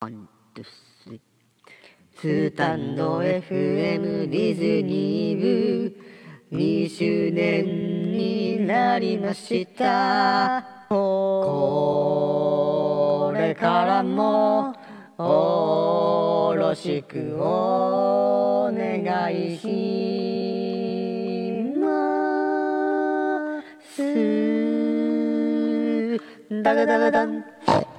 ワン、ツー、スリー。スタンド FM ディズニー部2周年になりました。これからもよろしくお願いします。ダガダガダン。